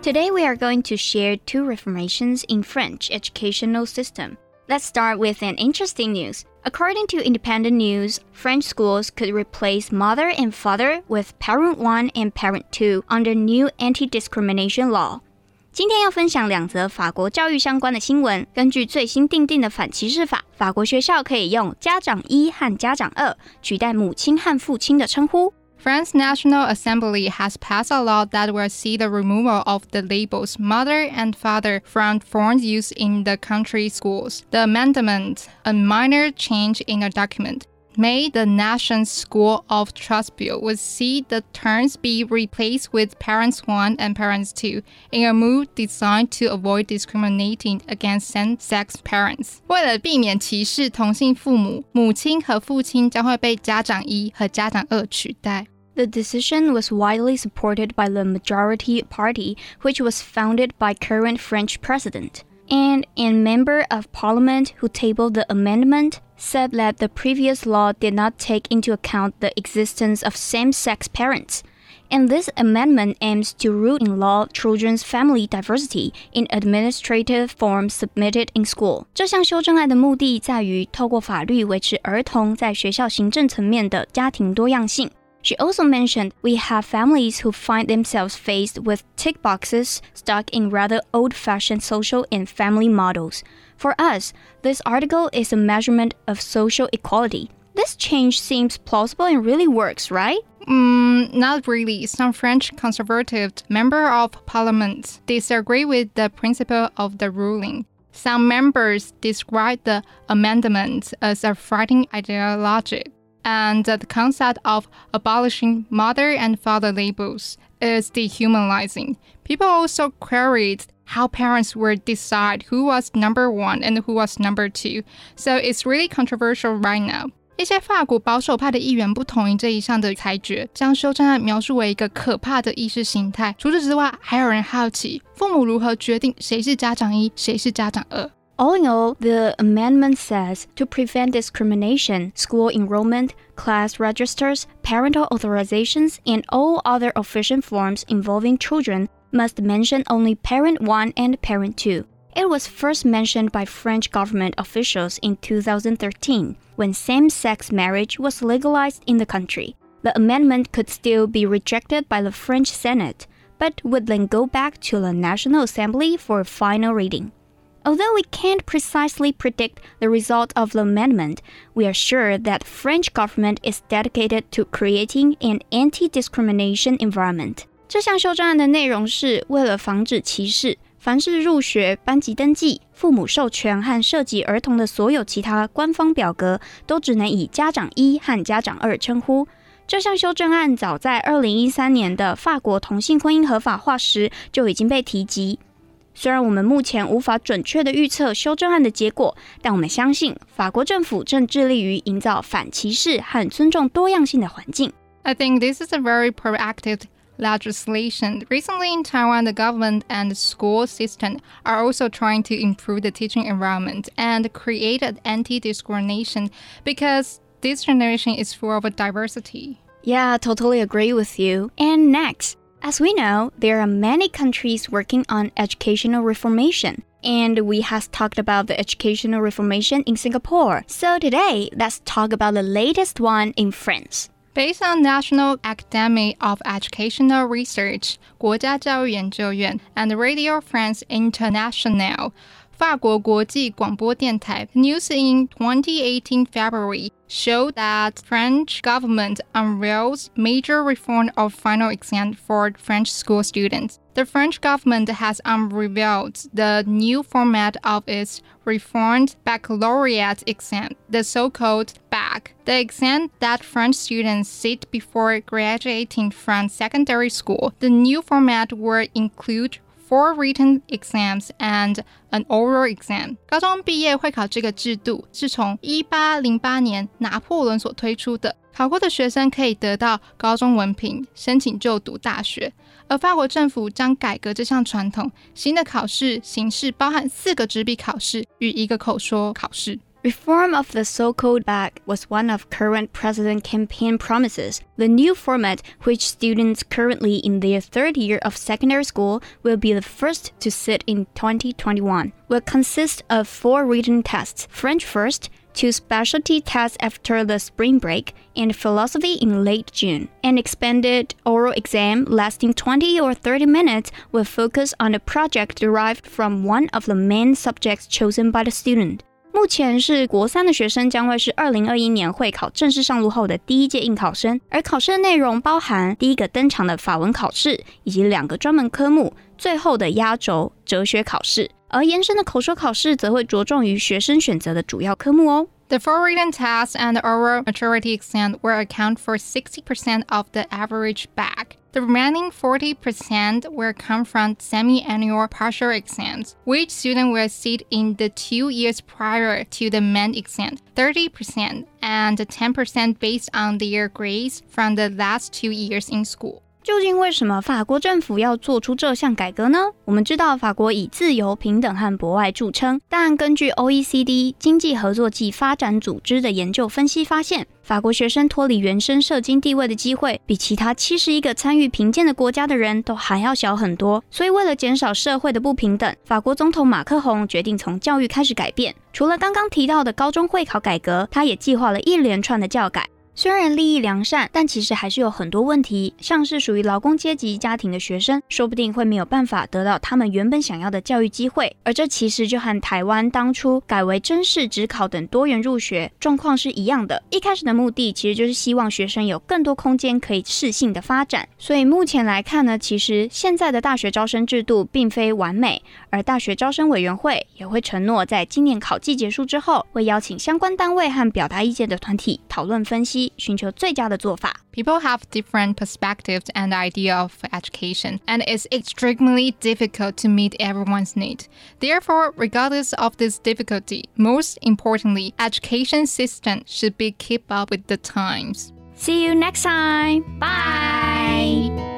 Today we are going to share 2 reformations in French educational system. Let's start with an interesting news. According to independent news, French schools could replace mother and father with parent 1 and parent 2 under new anti-discrimination law. 今天要分享2則法國教育相關的新聞。根據最新訂定的反歧視法，法國學校可以用家長1和家長2取代母親和父親的稱呼。 France's National Assembly has passed a law that will see the removal of the labels mother and father from foreign use in the country's schools. The amendment, a minor change in a document, made the nation's School of Trust Bill would see the terms be replaced with parents 1 and parents 2 in a move designed to avoid discriminating against same-sex parents. 为了避免歧视同性父母，母親和父親將會被家長1和家長2取代。 The decision was widely supported by the majority party, which was founded by current French president. And a member of parliament who tabled the amendment said that the previous law did not take into account the existence of same-sex parents. And this amendment aims to root in law children's family diversity in administrative forms submitted in school. 這項修正案的目的在於透過法律維持兒童在學校行政層面的家庭多樣性。She also mentioned we have families who find themselves faced with tick boxes stuck in rather old-fashioned social and family models. For us, this article is a measurement of social equality. This change seems plausible and really works, right? Not really. Some French conservative members of parliament disagree with the principle of the ruling. Some members describe the amendment as a frightening ideology. And the concept of abolishing mother and father labels is dehumanizing. People also queried how parents would decide who was number 1 and who was number 2. So it's really controversial right now. 一些法國保守派的議員不同意這一項的裁決，將修正案描述為一個可怕的意識形態。除此之外，還有人好奇父母如何決定誰是家長1，誰是家長2。 All in all, the amendment says to prevent discrimination, school enrollment, class registers, parental authorizations, and all other official forms involving children must mention only parent 1 and parent 2. It was first mentioned by French government officials in 2013, when same-sex marriage was legalized in the country. The amendment could still be rejected by the French Senate, but would then go back to the National Assembly for a final reading. Although we can't precisely predict the result of the amendment, we are sure that the French government is dedicated to creating an anti-discrimination environment. 這項修正案的內容是為了防止歧視，凡是入學、班級登記、父母授權和涉及兒童的所有其他官方表格，都只能以家長1和家長2稱呼。這項修正案早在2013年的法國同性婚姻合法化時就已經被提及。雖然我們目前無法準確地預測修正案的結果，但我們相信法國政府正致力於營造反歧視和尊重多樣性的環境。 I think this is a very proactive legislation. Recently in Taiwan, the government and the school system are also trying to improve the teaching environment and create an anti-discrimination because this generation is full of diversity. Yeah, totally agree with you. And next,As we know, there are many countries working on educational reformation, and we have talked about the educational reformation in Singapore. So today, let's talk about the latest one in France. Based on National Academy of Educational Research, 國家教育研究院 and Radio France International, 法國國際廣播電台 news in 2018 February showed that French government unveils major reform of final exam for French school students. The French government has unveiled the new format of its reformed baccalaureate exam, the so-called BAC, the exam that French students sit before graduating from secondary school. The new format will include 4 written exams and an oral exam. 高中畢業會考這個制度是從1808年拿破崙所推出的。考過的學生可以得到高中文憑，申請就讀大學。而法國政府將改革這項傳統，新的考試形式包含4個紙筆考試與1個口說考試。 Reform of the so-called bag was one of current president campaign promises. The new format, which students currently in their third year of secondary school will be the first to sit in 2021, will consist of 4 written tests, French first, 2 specialty tests after the spring break, and philosophy in late June. An expanded oral exam lasting 20 or 30 minutes will focus on a project derived from one of the main subjects chosen by the student. 目前是國3的學生將會是2021年會考正式上路後的第一屆應考生，而考試的內容包含第一個登場的法文考試，以及2個專門科目，最後的壓軸哲學考試。而延伸的口說考試則會着重於學生選擇的主要科目哦。 The 4 written tests and the oral maturity exam will account for 60% of the average bag. The remaining 40% will come from semi-annual partial exams, which students will sit in the 2 years prior to the main exam, 30% and 10% based on their grades from the last 2 years in school. 究竟為什麼法國政府要做出這項改革呢？我們知道法國以自由、平等和博愛著稱，但根據 OECD 經濟合作暨發展組織的研究分析發現，法國學生脫離原生社經地位的機會，比其他71個參與評鑑的國家的人都還要小很多。所以為了減少社會的不平等，法國總統馬克宏決定從教育開始改變。除了剛剛提到的高中會考改革，他也計劃了一連串的教改。雖然立意良善，但其實還是有很多問題，像是屬於勞工階級家庭的學生，說不定會沒有辦法得到他們原本想要的教育機會，而這其實就和台灣當初改為甄試、指考等多元入學狀況是一樣的。一開始的目的其實就是希望學生有更多空間可以適性的發展，所以目前來看呢，其實現在的大學招生制度並非完美，而大學招生委員會也會承諾在今年考季結束之後，會邀請相關單位和表達意見的團體討論分析，尋求最佳的做法。 People have different perspectives and idea of education, and it's extremely difficult to meet everyone's need. Therefore, regardless of this difficulty, most importantly, education system should be keep up with the times. See you next time. Bye.